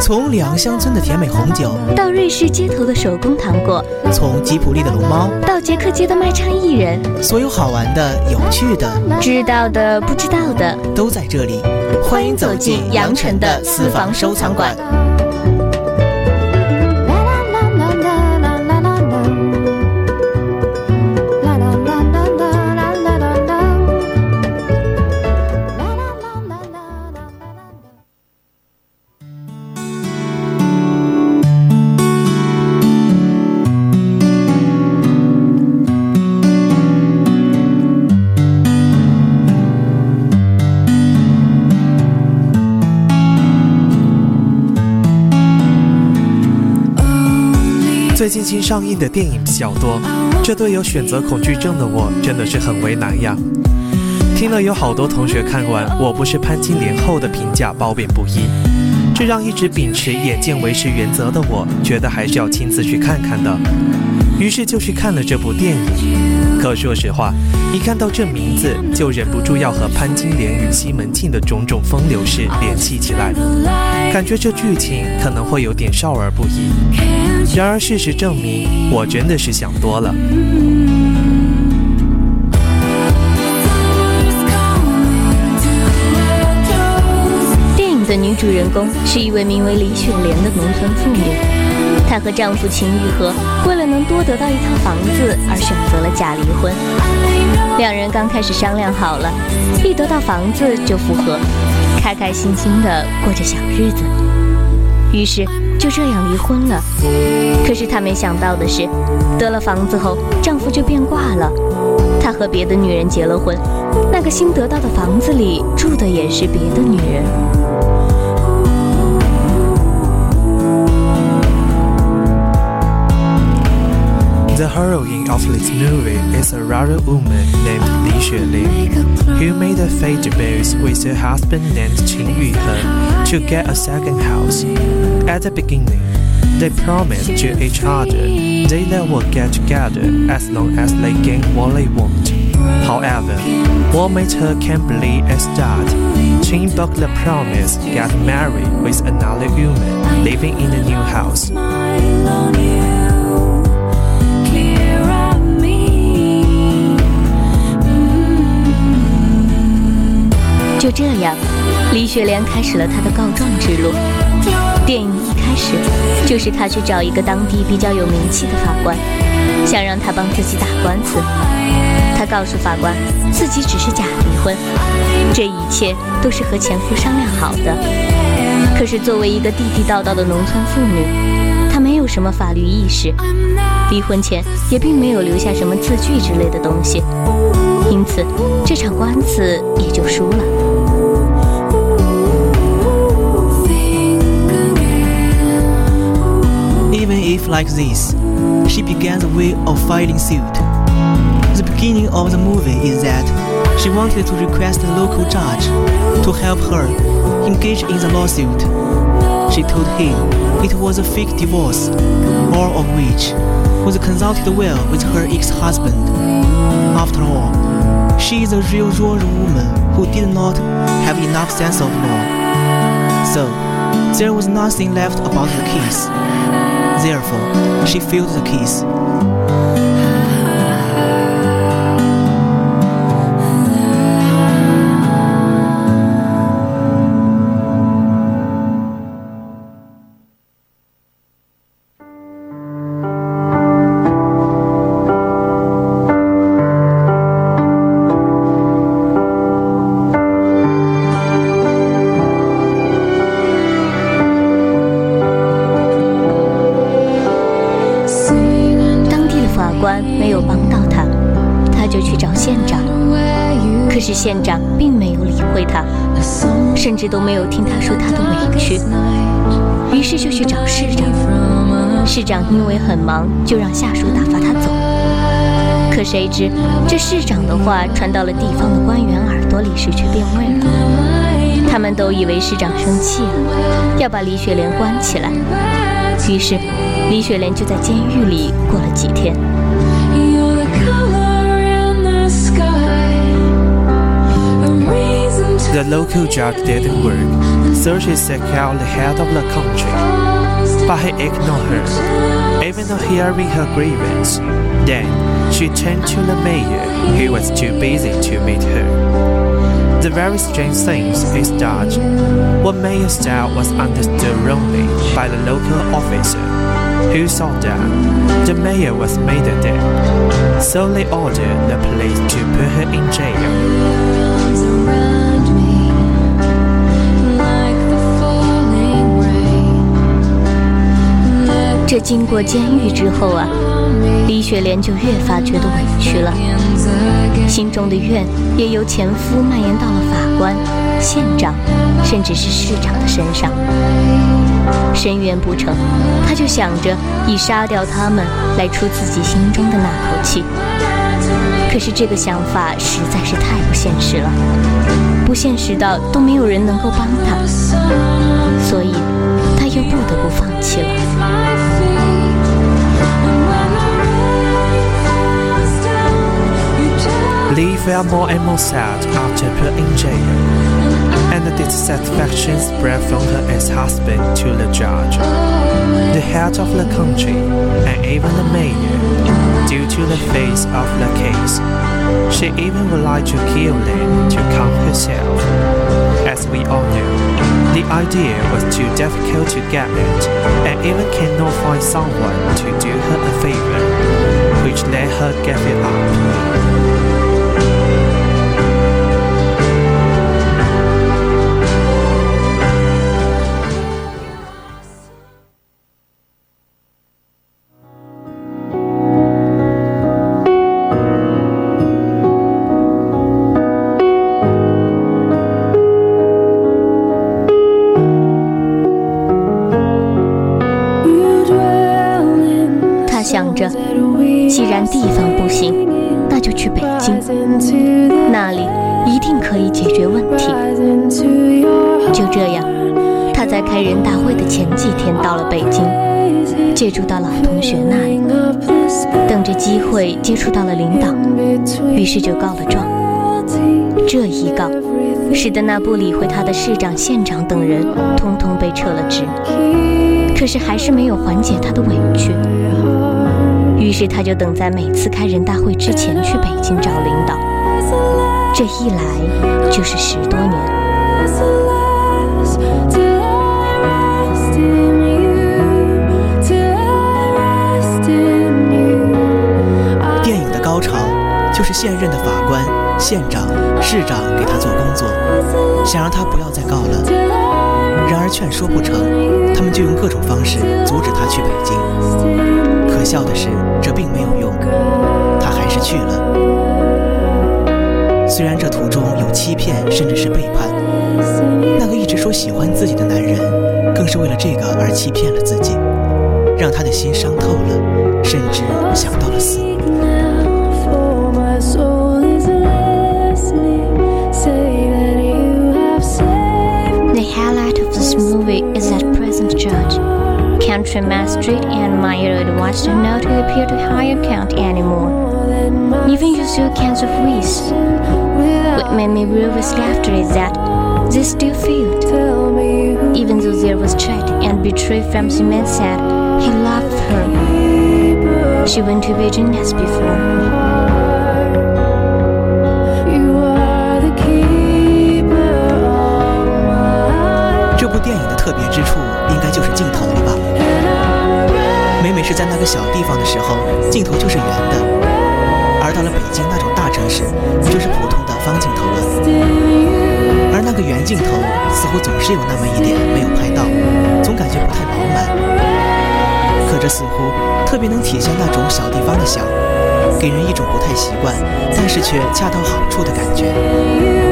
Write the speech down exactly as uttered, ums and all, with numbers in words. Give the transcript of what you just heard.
从里昂乡村的甜美红酒， 到瑞士街头的手工糖果， 从吉普力的龙猫， 到捷克街的卖唱艺人， 所有好玩的、有趣的、 知道的、不知道的， 都在这里。欢迎走进羊城的私房收藏馆。最近新上映的电影比较多，这对有选择恐惧症的我真的是很为难呀。听了有好多同学看完《我不是潘金莲》后的评价褒贬不一，这让一直秉持眼见为实原则的我觉得还是要亲自去看看的，于是就去看了这部电影。可说实话，一看到这名字就忍不住要和潘金莲与西门庆的种种风流事联系起来，感觉这剧情可能会有点少儿不宜。然而事实证明，我真的是想多了。 电影的女主人公是一位名为李雪莲的农村妇女，她和丈夫秦玉和为了能多得到一套房子而选择了假离婚。两人刚开始商量好了，一得到房子就复合，开开心心地过着小日子。于是就这样离婚了。可是她没想到的是，得了房子后丈夫就变卦了，他和别的女人结了婚，那个新得到的房子里住的也是别的女人。 The heroine of this movie is a rural woman named Li Xuelin, who made a fate debut with her husband named Qin Yuhe to get a second house. At the beginning, they promised to each other they will get together as long as they gain what they want. However, what made her can't believe is that Qin broke the promise, got married with another woman living in the new house. 就这样，李雪莲开始了她的告状之路。电影一开始就是她去找一个当地比较有名气的法官，想让他帮自己打官司。她告诉法官自己只是假离婚，这一切都是和前夫商量好的。可是作为一个地地道道的农村妇女，她没有什么法律意识，离婚前也并没有留下什么字据之类的东西，因此这场官司也就输了。 Even if like this, she began the way of filing suit. The beginning of the movie is that she wanted to request the local judge to help her engage in the lawsuit. She told him it was a fake divorce, all of which was consulted well with her ex-husband. After all, she is a real rural woman who did not have enough sense of law. So, there was nothing left about the case. Therefore, she filed the case. 没有帮到他，他就去找县长。可是县长并没有理会他，甚至都没有听他说他的委屈，于是就去找市长。市长因为很忙，就让下属打发他走。可谁知这市长的话传到了地方的官员耳朵里，失去变味了。他们都以为市长生气了，要把李雪莲关起来。于是李雪莲就在监狱里过了几天。 The The local judge didn't work, so she sought out the head of the country. But he ignored her, even though hearing her grievance. Then she turned to the mayor, who was too busy to meet her. The very strange thing is that what Mayor said was understood wrongly by the local officer, who saw that the mayor was made dead, so they ordered the police to put her in jail. 这经过监狱之后啊，李雪莲就越发觉得委屈了，心中的怨也由前夫蔓延到了法官、县长，甚至是市长的身上。申冤不成，他就想着以杀掉他们来出自己心中的那口气。可是这个想法实在是太不现实了，不现实到都没有人能够帮他，所以他又不得不放弃了。 Lee felt more and more sad after put in jail, and the dissatisfaction spread from her ex-husband to the judge, the head of the country, and even the mayor. Due to the phase of the case, she even would like to kill Lin to calm herself. As we all know, the idea was too difficult to get it, and even cannot find someone to do her a favor, which let her give it up. 既然地方不行，那就去北京，那里一定可以解决问题。就这样，他在开人大会的前几天到了北京，借住到老同学那里，等着机会接触到了领导，于是就告了状。这一告，使得那不理会他的市长、县长等人通通被撤了职，可是还是没有缓解他的委屈。于是他就等在每次开人大会之前去北京找领导，这一来就是十多年。 电影的高潮就是现任的法官、县长、市长给他做工作，想让他不要再告了。然而劝说不成，他们就用各种方式阻止他去北京。可笑的是，这并没有用，他还是去了。虽然这途中有欺骗，甚至是背叛，那个一直说喜欢自己的男人，更是为了这个而欺骗了自己，让他的心伤透了，甚至想到了死。 The highlight of this movie is that present judge, country magistrate and mayor advised her not to appear to higher count anymore, even use all kinds of ways. What made me nervous after is that they still failed. Even though there was threat and betrayal from the man said he loved her, she went to Beijing as before. 这部电影的特别之处应该就是镜头了吧。每每是在那个小地方的时候，镜头就是圆的，而到了北京那种大城市，就是普通的方镜头了。而那个圆镜头似乎总是有那么一点没有拍到，总感觉不太饱满。可这似乎特别能体现那种小地方的小，给人一种不太习惯，但是却恰到好处的感觉。